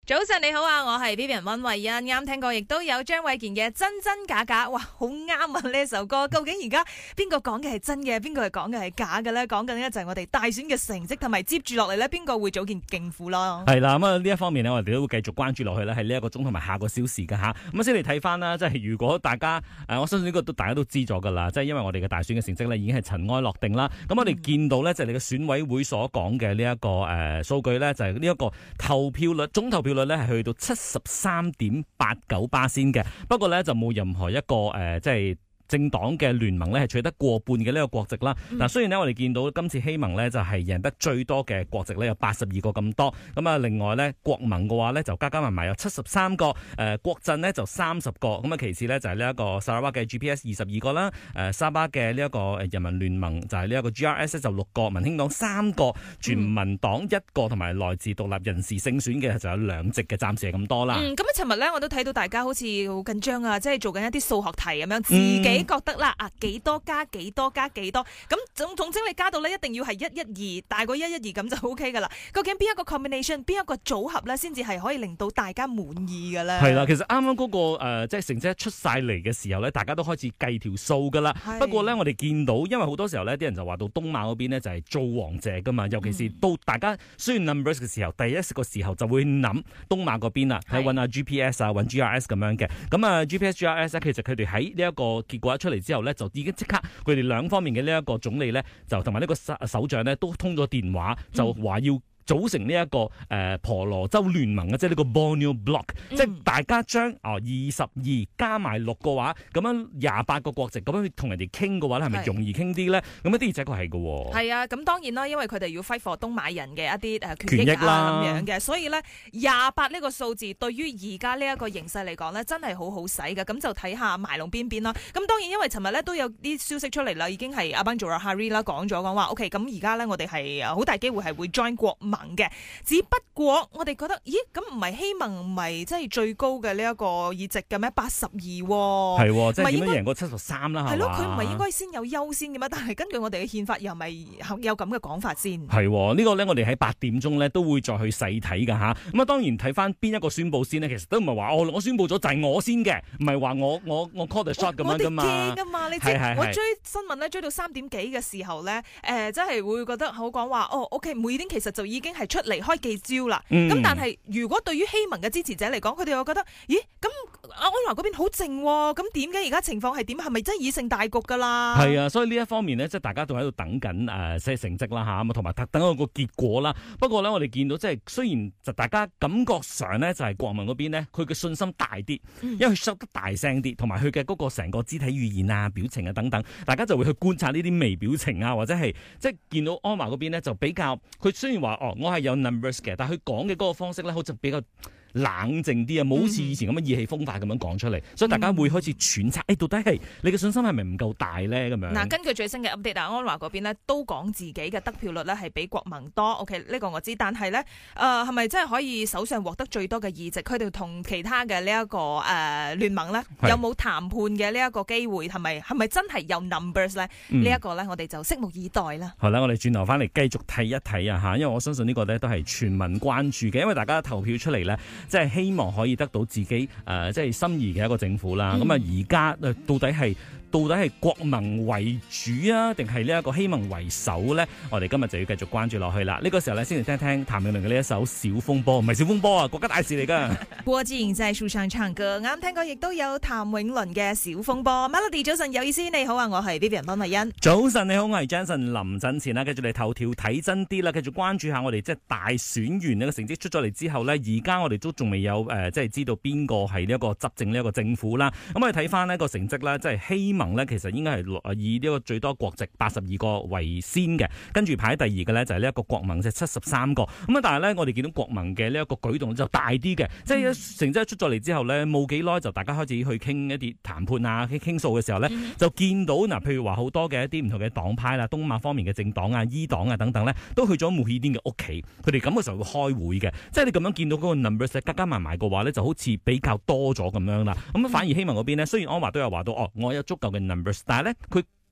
早晨你好啊，我係 Vivian 溫慧欣，啱聽過，亦都有張衛健嘅真真假假，哇，好啱啊呢首歌。究竟而家邊個講嘅係真嘅，邊個係講嘅係假嘅咧？講緊呢就係我哋大選嘅成績，同埋接住落嚟咧，邊個會組建政府咯？係啦，咁啊呢一方面呢，我哋都會繼續關注落去咧，係呢一個鐘同埋下個小時噶吓。咁先嚟睇翻啦，即係如果大家我相信呢個大家都知咗噶啦，即係因為我哋嘅大選嘅成績咧已經係塵埃落定啦。咁我哋見到咧就係你嘅選委會所講嘅呢一個數據咧，就係呢一個投票率總投票率咧係去到73.89%嘅，不過咧就冇任何一個即係政黨嘅聯盟咧係取得過半嘅呢個國席啦。嗱，雖然呢，我哋見到今次希盟呢就係贏得最多嘅國席呢有82個咁多，咁啊另外呢，國盟嘅話呢就加加埋埋有73個，國陣呢就30個，咁啊其次呢，就係呢一個沙拉瓦嘅 GPS 22個啦，沙巴嘅呢一個人民聯盟就係呢一個 GRS 就6個，民興黨3個，全民黨1個，同埋來自獨立人士勝選嘅就有2席嘅，暫時係咁多啦。 咁啊，尋日呢，我都睇到大家好似好緊張啊，即係做緊一啲數學題咁樣，自己覺得啦幾多加幾多加幾多，咁總之你加到呢一定要係112大過112咁就 OK 噶啦。究竟邊一個 combination 邊一個組合咧，先至係可以令到大家滿意嘅咧？係啦，其實啱啱嗰個即係成績出晒嚟嘅時候咧，大家都開始計條數噶啦。不過咧，我哋見到因為好多時候咧，啲人就話到東馬嗰邊呢就係做王者噶嘛，尤其是到大家需要 numbers 嘅時候，第一個時候就會諗東馬嗰邊啦，係揾下 GPS 啊，揾 GRS 咁樣嘅。咁啊 GPS GRS 其實佢哋喺呢一個結果一出嚟之後咧，就已經即刻佢哋兩方面嘅呢一個總理咧，就同埋呢個首長咧，都通咗電話，就話要組成呢一個婆羅洲聯盟嘅，即係呢個 Borneo Bloc，即係大家將22加埋6嘅話，咁樣28個國席，咁樣同人哋傾嘅話咧，係咪容易傾啲咧？咁一啲而且確係嘅喎。 係啊，咁當然啦，因為佢哋要揮霍東馬人嘅一啲權益啊咁樣嘅，所以咧28呢個數字對於而家呢一個形勢嚟講咧，真係好好使嘅。咁就睇下埋龍邊邊啦。咁當然因為尋日咧都有啲消息出嚟啦，已經係阿班佐拉哈里啦講話 OK， 咁而家咧我哋係好大機會係會 join 國盟嘅，只不過我哋覺得，咦，咁唔係希盟唔係即係最高嘅呢一個議席嘅咩？82 係，即係點樣贏過73啦？ 係咯，佢唔係應該先有優先嘅咩？但係根據我哋嘅憲法，又係咪有咁嘅講法先？ 係呢個咧，我哋喺8點鐘咧都會再去細睇噶吓。咁啊，當然睇翻邊一個宣佈先呢，其實都唔係話我宣佈咗就係我先嘅，唔係話我 call the shot 咁樣噶嘛。我哋驚噶嘛？你知我追新聞咧追到3點幾嘅時候咧，真係會覺得好講話OK，每點其實就已經係出嚟開記招啦，咁但係如果對於希盟嘅支持者嚟講，佢哋又覺得，咦，咁安華嗰邊好靜，咁點解而家情況係點？係咪真係以勝大局噶啦？ 係啊，所以呢一方面呢，即係大家都喺度等緊即係成績啦吓，咁同埋等一個結果啦。不過呢，我哋見到即係雖然就大家感覺上呢，就係國民嗰邊呢，佢嘅信心大啲，因為佢收得大聲啲，同埋佢嘅嗰個成個肢體語言啊、表情啊等等，大家就會去觀察呢啲微表情啊，或者係即係見到安華嗰邊呢，就比較佢雖然話我係有 numbers 嘅，但係佢講嘅嗰個方式咧，好似比較冷靜啲啊，冇好似以前咁樣意氣風發咁樣講出嚟，所以大家會開始揣測，到底係你嘅信心係咪唔夠大咧？咁樣嗱，根據最新嘅 update，安華嗰邊咧都講自己嘅得票率咧係比國盟多。OK， 呢個我知，但係咧係咪真係可以手上獲得最多嘅議席？佢哋同其他嘅呢一個聯盟咧有冇談判嘅呢一個機會？係咪真係有 numbers 咧？呢一個咧我哋就拭目以待啦。 好啦，我哋轉頭翻嚟繼續睇一睇啊嚇，因為我相信呢個咧都係全民關注嘅，因為大家投票出嚟咧。即係希望可以得到自己即係心儀嘅一個政府啦。咁啊，而家到底係國盟為主啊，定係呢一個希盟為首咧？我哋今日就要繼續關注落去啦。呢個時候咧，先嚟聽聽譚詠麟嘅呢一首《小風波》，唔係小風波啊，國家大事嚟噶。 郭自然就係樹上唱歌，啱聽過，亦都有譚詠麟嘅《小風波》。Melody 早晨有意思，你好啊，我係 Vivian 溫慧欣。 早晨你好，我係 Jason 林振前啦。繼續嚟頭條睇真啲啦，繼續關注下我哋即係大選完呢個成績出咗嚟之後咧，而家我哋都仲未有即係知道邊個係呢一個執政呢一個政府啦。咁我哋睇翻呢個成績啦，即係希盟咧，其實應該係以呢個最多國席82個為先嘅，跟住排第二嘅咧就係呢一個國盟，即係73個。咁啊，但係咧我哋見到國盟嘅呢一個舉動就大啲嘅，即係成績出咗嚟之後咧，冇幾耐就大家開始去傾一啲談判啊、傾數嘅時候咧，就見到嗱，譬如話好多嘅一啲唔同嘅黨派啦，東馬方面嘅政黨啊、伊黨啊等等咧，都去咗慕尤丁嘅屋企，佢哋咁嘅時候會開會嘅，即係你咁樣見到嗰個 numbers 加加埋埋嘅話咧，就好似比較多咗咁樣啦。咁反而希盟嗰邊咧，雖然安華都有話到我有足夠嘅 numbers，但係咧佢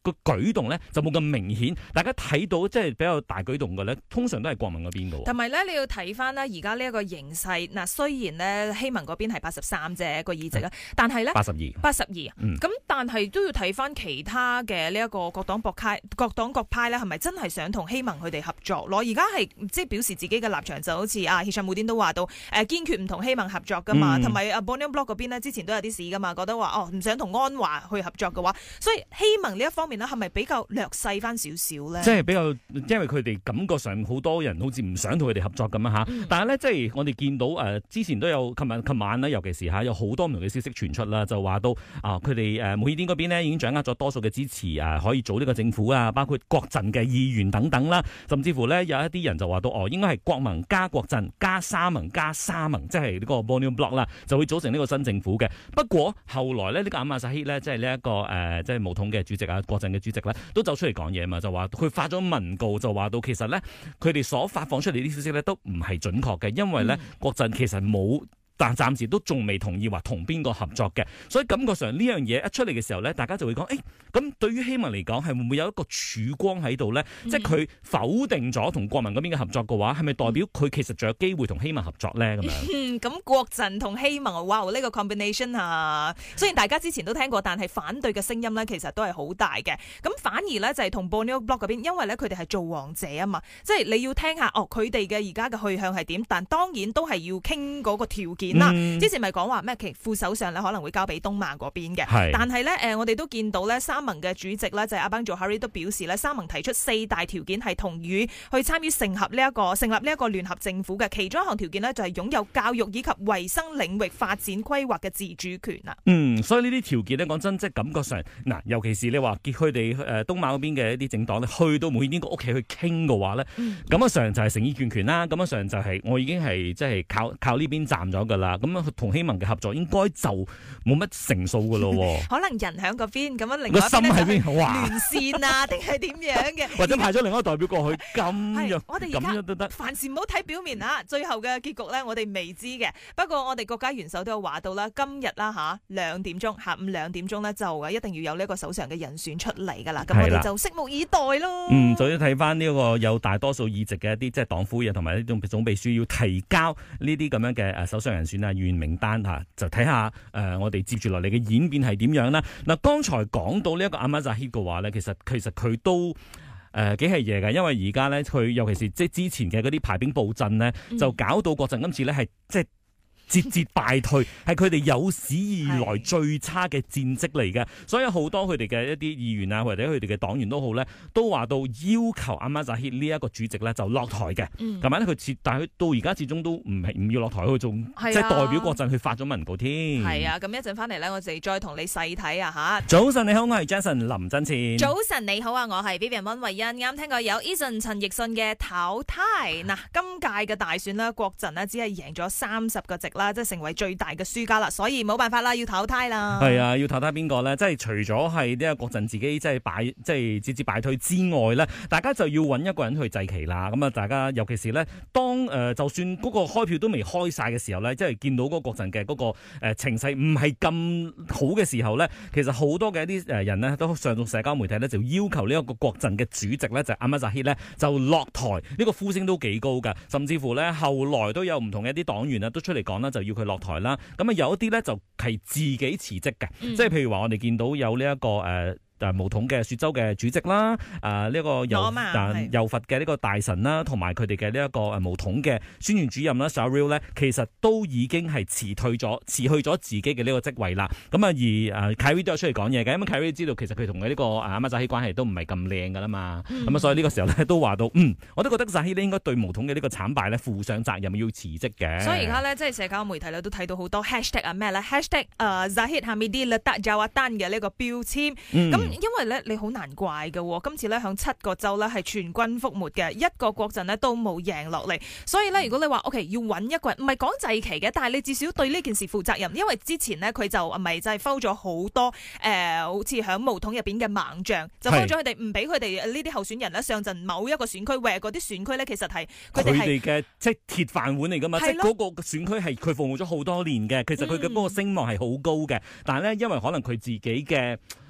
個舉動咧就冇咁明顯。大家睇到即係比較大舉動嘅咧，通常都係國民嗰邊嘅。 同埋咧，你要睇翻咧而家呢一個形勢。嗱，雖然咧希盟嗰邊係83啫個議席啦，但係咧82，咁但係都要睇翻其他嘅呢一個各黨各派咧，係咪真係想同希盟佢哋合作咯？而家係即係表示自己嘅立場，就好似阿希尚慕丁都話到，堅決唔同希盟合作噶嘛，同埋阿 Borneo Bloc 嗰邊呢，之前都有啲事噶嘛，覺得話唔想同安華去合作嘅話，所以希盟呢一方面呢，係咪比較略細翻少少咧？ 即係比較，因為佢哋感覺上好多人好似唔想同佢哋合作咁啊嚇。但係咧，即係我哋見到之前都有，琴晚呢，尤其是有好多唔同嘅消息傳出啦，就話到佢哋慕尤丁嗰邊呢已經掌握咗多數嘅支持可以組呢個政府啊，包括國陣嘅議員等等啦，甚至乎呢，有一啲人就話到應該係國盟加國陣加沙盟加沙盟，即係呢個 Borneo Bloc 啦，就會組成呢個新政府嘅。不過後來呢，呢個阿馬薩希呢，即係呢一個即係巫統嘅主席國陣嘅主席呢，都走出嚟講嘢嘛，就話佢發咗文告，就話到其實呢，佢哋所發放出嚟啲消息呢，都唔係準確嘅，因為呢，國陣其實冇。但暫時都仲未同意話同邊個合作嘅，所以感覺上呢樣嘢一出嚟嘅時候咧，大家就會講，咁對於希盟嚟講係會唔會有一個曙光喺度咧？即係佢否定咗同國民嗰邊嘅合作嘅話，係咪代表佢其實仲有機會同希盟合作咧？咁樣咁國陣同希盟，哇！呢個 combination 啊，雖然大家之前都聽過，但係反對嘅聲音咧，其實都係好大嘅。咁反而咧就係同 Borneo Bloc 嗰邊，因為咧佢哋係造王者啊嘛，即係你要聽下佢哋嘅而家嘅去向係點，但當然都係要傾嗰個條件。之前咪講話咩？其副首相咧可能會交俾東馬嗰邊嘅，但係咧我哋都見到咧沙盟嘅主席咧就係阿邦佐哈里都表示咧，沙盟提出4大條件係同意去參與成立呢一個聯合政府嘅，其中一項條件呢，就係擁有教育以及衛生領域發展規劃嘅自主權啊。所以呢啲條件咧講真，即係感覺上嗱，尤其是你話結佢哋東馬嗰邊嘅一啲政黨咧，去到每邊個屋企去傾嘅話咧，咁上就係誠意權啦，咁上就係我已經係即係靠呢邊站咗噶啦，咁同希盟嘅合作應該就冇乜成數噶咯，可能人喺嗰邊，咁樣另外一邊咧就連線啊，定係點樣嘅，或者派咗另一個代表過去咁樣，我哋咁樣都得。凡事唔好睇表面啊，最後嘅結局咧，我哋未知嘅。不過我哋國家元首都有話到啦，今日啦下午2點咧就一定要有呢一個首相嘅人選出嚟噶啦，咁我哋就拭目以待咯。就要睇翻呢個有大多數議席嘅一啲即係黨魁啊，同埋呢種總秘書要提交呢啲咁樣嘅首相人選啊、議員名單嚇，就睇下我哋接住落嚟嘅演變係點樣啦。嗱，剛才講到呢一個阿馬扎希嘅話咧，其實佢都幾係嘢嘅，因為而家咧佢尤其是即係之前嘅嗰啲排兵布陣呢，就搞到國陣今次咧係即係節節敗退，係佢哋有史以來最差嘅戰績嚟嘅。所以好多佢哋嘅一啲議員啊，或者佢哋嘅黨員都好咧，都話到要求阿馬扎希呢一個主席咧就落台嘅。同埋咧但係佢到而家始終都唔要落台，佢仲即係代表國陣去發咗文告添。係啊，咁一陣翻嚟咧，我哋再同你細睇啊嚇。早晨你好，我係 Jason 林真前。早晨你好啊，我係 Vivian 溫慧欣。啱聽過有 Eason 陳奕迅嘅淘汰。嗱，今屆嘅大選呢，國陣呢只係贏咗30個席啦。即係成為最大嘅輸家啦，所以冇辦法啦，要淘汰啦。係啊，要淘汰邊個咧？即係除咗係呢個國陣自己即係節節敗退之外咧，大家就要揾一個人去祭旗啦。咁啊，大家尤其是咧，當就算嗰個開票都未開晒嘅時候咧，即係見到嗰個國陣嘅嗰個情勢唔係咁好嘅時候咧，其實好多嘅一啲人呢，都上到社交媒體咧，就要求呢一個國陣嘅主席咧，就阿馬扎希咧就落台。呢個呼聲都幾高㗎，甚至乎咧後來都有唔同嘅一啲黨員啊都出嚟講啦，就要佢落台啦。咁啊有一啲咧就係自己辭職嘅，即係譬如話我哋見到有呢一個巫統嘅雪州嘅主席啦，呢個柔佛嘅呢個大臣啦，同埋佢哋嘅呢一個巫統嘅宣傳主任啦 Saril 咧，其實都已經係辭去咗自己嘅呢個職位啦。咁啊而Khairy 都有出嚟講嘢嘅，因為 Khairy 知道其實佢同佢呢個阿馬扎希關係都唔係咁靚噶啦嘛。咁啊所以呢個時候咧都話到，我都覺得扎希咧應該對巫統嘅呢個慘敗咧負上責任，要辭職嘅。所以而家咧即係社交媒體咧都睇到好多 hashtag 啊咩咧 hashtag Zahid Hamidi Letak Jawatan 嘅呢個標籤咁。因為咧你好難怪嘅，今次咧響7個州咧係全軍覆沒嘅，一個國陣咧都冇贏落嚟，所以咧如果你話 OK 要揾一個人，唔係講祭旗嘅，但係你至少對呢件事負責任，因為之前呢，佢就咪就係 foul 咗好多好似響巫統入邊嘅猛將，就 foul 咗佢哋，唔俾佢哋呢啲候選人咧上陣某一個選區，嗰啲選區咧其實係佢哋嘅即係鐵飯碗嚟噶嘛，即係嗰個選區係佢服務咗好多年嘅，其實佢嘅嗰個聲望係好高嘅，但係咧因為可能佢自己嘅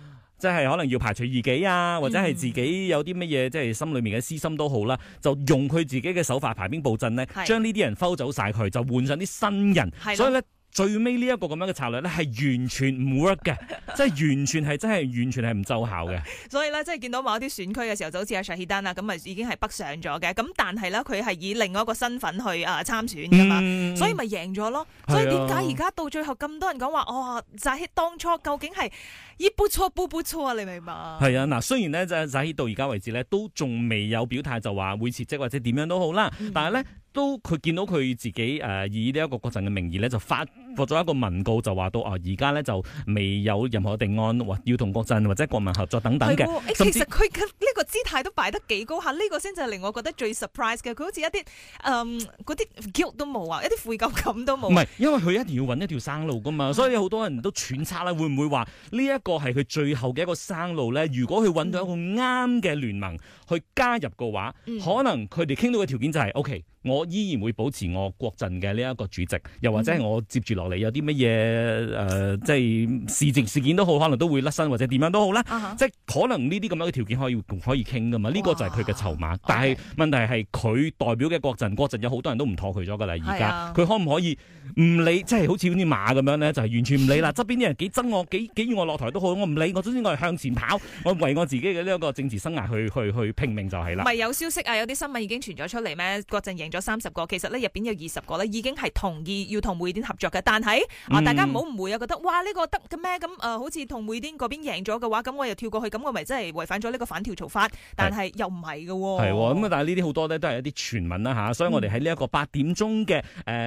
即係可能要排除異己啊，或者係自己有啲乜嘢即係心裏面嘅私心都好啦，就用佢自己嘅手法排兵布陣咧，將呢啲人摟走晒佢，就換上啲新人，所以咧。最尾呢一個咁樣嘅策略咧，係完全唔 work 嘅，即係完全係唔奏效嘅。 所以咧，即係見到某一啲選區嘅時候，就好似阿 Shahidan 啦，咁啊已經係北上咗嘅。咁但係咧，佢係以另外一個身份去參選噶嘛，所以咪贏咗咯。所以點解而家到最後咁多人講話，Zahid 當初究竟係一不錯不錯啊？你明白？係啊，嗱，雖然咧就 Zahid 到而家為止咧，都仲未有表態就話會辭職或者點樣都好啦，但係咧。都佢見到佢自己以呢一個國陣嘅名義咧，就發咗一個文告，就話到而家咧就未有任何定案，要同國陣或者國民合作等等嘅。 其實佢嘅呢個姿態都擺得幾高下，呢個先就係令我覺得最 surprise 嘅。佢好似一啲嗰啲 guilt 都冇啊，一啲悔疚感都冇。唔係，因為佢一定要揾一條生路噶嘛，所以好多人都揣測啦，會唔會話呢一個係佢最後嘅一個生路咧？如果佢揾到一個啱嘅聯盟去加入嘅話，可能佢哋傾到嘅條件就係 OK。我依然會保持我國陣嘅呢一個主席，又或者係我接住落嚟有啲乜嘢即係事件都好，可能都會甩身或者點樣都好啦。即係可能呢啲咁樣嘅條件可以傾噶嘛？呢個就係佢嘅籌碼。但係問題係佢代表嘅國陣有好多人都唔妥佢咗噶啦。而家佢可唔可以唔理？即係好似啲馬咁樣咧，就係完全唔理啦。側邊啲人幾憎我，幾要我落台都好，我唔理。我總之我係向前跑，我為我自己嘅呢一個政治生涯去拼命就係啦。 咪有消息啊？有啲新聞已經傳咗出嚟咩？國陣贏咗30個，其實咧入邊有20個咧已經係同意要同匯典合作嘅，但係大家唔好誤會啊，覺得哇呢個得嘅咩？咁好似同匯典嗰邊贏咗嘅話，咁我又跳過去，咁我咪真係違反咗呢個反跳槽法？但係又唔係嘅喎。係喎， 咁但係呢啲好多咧都係一啲傳聞啦嚇，所以我哋喺呢一個8點鐘嘅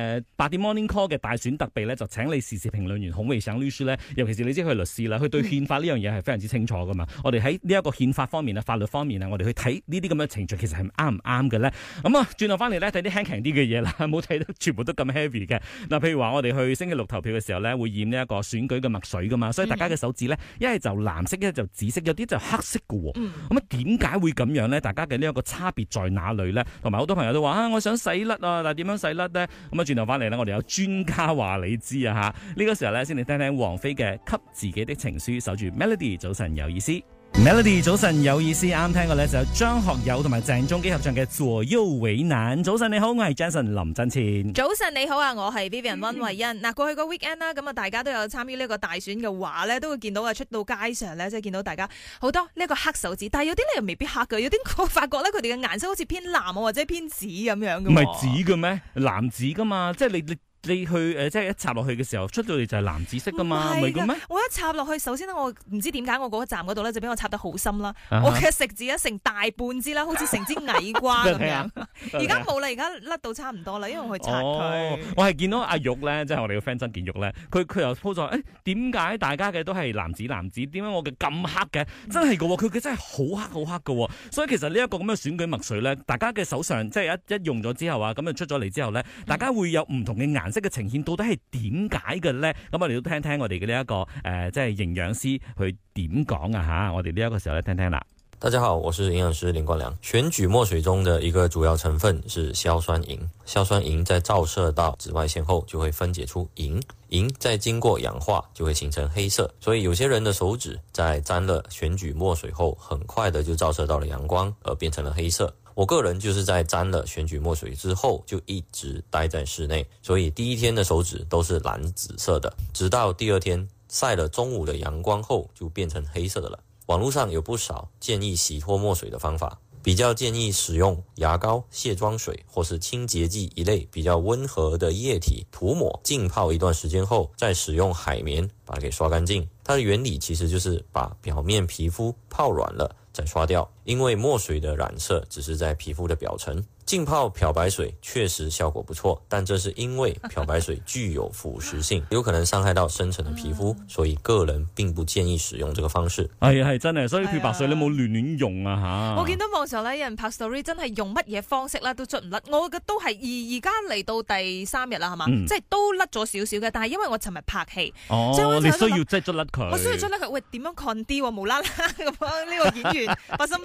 8點 Morning Call 嘅大選特備咧，就請你時事評論員孔維省律師咧，尤其是你知佢係律師啦，佢對憲法呢樣嘢係非常之清楚噶嘛。我哋喺呢一個憲法方面啊、法律方面啊，我哋去睇呢啲咁嘅程序，其實係啱唔啱嘅咧？咁啊，轉頭翻嚟咧睇啲輕啲嘅嘢啦，冇睇得全部都咁 heavy 嘅。嗱，譬如話我哋去星期六投票嘅時候咧，會染呢一個選舉嘅墨水噶嘛，所以大家嘅手指咧，一係就藍色，一係就紫色，有啲就黑色嘅。咁點解會咁樣咧？大家嘅呢一個差別在哪裏咧？同埋好多朋友都話我想洗甩啊，但係點樣洗甩咧？咁啊，轉頭翻嚟咧，我哋有專家話你知啊吓。呢個時候咧，先嚟聽聽王菲嘅《給自己的情書》，守住 Melody， 早晨有意思。Melody 早晨有意思，啱聽過咧就有張學友同埋鄭中基合唱嘅左右為難。早晨你好，我係 Jason 林振前。 早晨你好啊，我係 Vivian 溫慧欣。嗱，過去個 weekend 啦，咁啊大家都有參與呢個大選嘅話咧，都會見到啊出到街上咧，即係見到大家好多呢個黑手指，但係有啲咧又未必黑嘅，有啲我發覺咧佢哋嘅顏色好似偏藍啊或者偏紫咁樣嘅。唔係紫嘅咩？藍紫噶嘛，即係你去即係一插落去嘅時候，出到嚟就係藍紫色噶嘛，唔係嘅咩？我一插落去，首先我唔知點解我嗰個站嗰度咧就俾我插得好深啦，我嘅食指咧成大半支啦，好似成支矮瓜咁樣。而家冇啦，而家甩到差唔多啦，因為我去擦佢。 我係見到阿玉咧，即係我哋嘅 friend 曾建玉咧，佢又 po 咗，點解大家嘅都係藍紫？點解我嘅咁黑嘅？真係嘅喎，佢真係好黑嘅喎。所以其實呢一個咁嘅選舉墨水咧，大家嘅手上即係一用咗之後啊，咁就出咗嚟之後咧，大家會有唔同嘅顏色嘅呈現，到底係點解嘅咧？咁我哋都聽聽我哋嘅呢一個即係營養師去點講啊吓！我哋呢一個時候咧聽聽啦。 大家好，我是營養師林冠良。選舉墨水中的一個主要成分是硝酸銀，硝酸銀在照射到紫外線後就會分解出銀，銀再經過氧化就會形成黑色。所以有些人的手指在沾了選舉墨水後，很快的就照射到了陽光，而變成了黑色。我個人就是在沾了選舉墨水之後就一直待在室內，所以第一天的手指都是藍紫色的，直到第二天曬了中午的陽光後就變成黑色的了。網絡上有不少建議洗脫墨水的方法，比較建議使用牙膏、卸妝水或是清潔劑一類比較溫和的液體塗抹，浸泡一段時間後再使用海綿把它給刷乾淨。它的原理其實就是把表面皮膚泡軟了再刷掉，因為墨水的染色只是在皮膚的表層。浸泡漂白水確實效果不錯，但這是因為漂白水具有腐蝕性，有可能傷害到深層的皮膚，所以個人並不建議使用這個方式。 係真係，所以漂白水你冇亂用啊吓。 我見到網上咧有人拍 story， 真係用乜嘢方式咧都捽唔甩。我嘅都係而家嚟到第3日啦，係嘛，即係都甩咗少少嘅。但係因為我尋日拍戲，所以你需要即係捽甩佢。 我需要捽甩佢。喂，點樣 con 啲？無啦啦咁呢個演員發生咩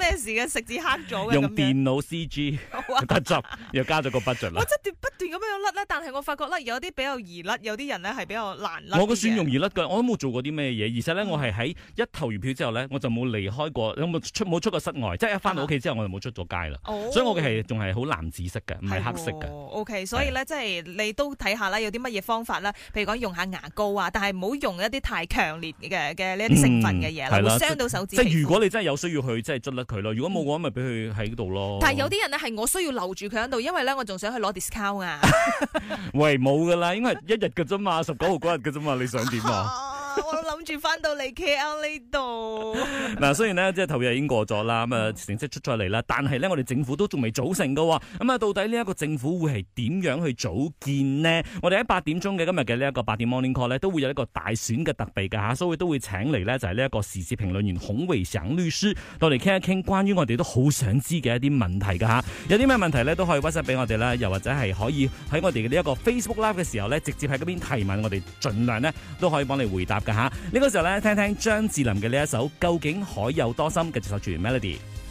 咩事嘅？食指黑咗嘅， 用電腦 CG 得執，又加咗個 budget 啦。 我真係不斷咁樣甩咧，但係我發覺咧有啲比較易甩，有啲人咧係比較難甩。 我個算容易甩㗎，我都冇做過啲咩嘢，而且咧我係喺一投完票之後咧，我就冇離開過，冇出過室外，即係一翻到屋企之後我就冇出咗街啦。所以我嘅係仲係好藍紫色嘅，唔係黑色嘅。 OK， 所以咧即係你都睇下啦，有啲乜嘢方法啦，譬如講用下牙膏啊，但係唔好用一啲太強烈嘅呢一啲成分嘅嘢啦，會傷到手指。 即係如果你真係有需要去，即係捽甩佢咯。如果冇嘅話，咪俾佢喺度咯。 但係有啲人咧係我需要留住佢喺度，因為咧我仲想去攞 discount 啊。 喂，冇噶啦，應該係1日嘅啫嘛，19號嗰日嘅啫嘛，你想點啊？ 我諗住翻到嚟 KL 呢度。 嗱，雖然呢，即係投票已經過咗啦，咁啊成績出咗嚟啦，但係呢，我哋政府都仲未組成噶。咁啊，到底呢一個政府會係點樣去組建呢？我哋喺8點鐘嘅今日嘅呢一個8點 Morning Call 呢，都會有一個大選嘅特備㗎嚇，所以都會請嚟呢，就係呢一個時事評論員孔維祥律師，到嚟傾一傾關於我哋都好想知嘅一啲問題㗎嚇。有啲咩問題呢，都可以 WhatsApp 俾我哋啦，又或者係可以喺我哋嘅呢一個 Facebook Live 嘅時候呢，直接喺嗰邊提問，我哋盡量呢都可以幫你回答㗎嚇。呢個時候呢，聽聽張智霖嘅呢一首《究竟海有多深》嘅這首全 Melody。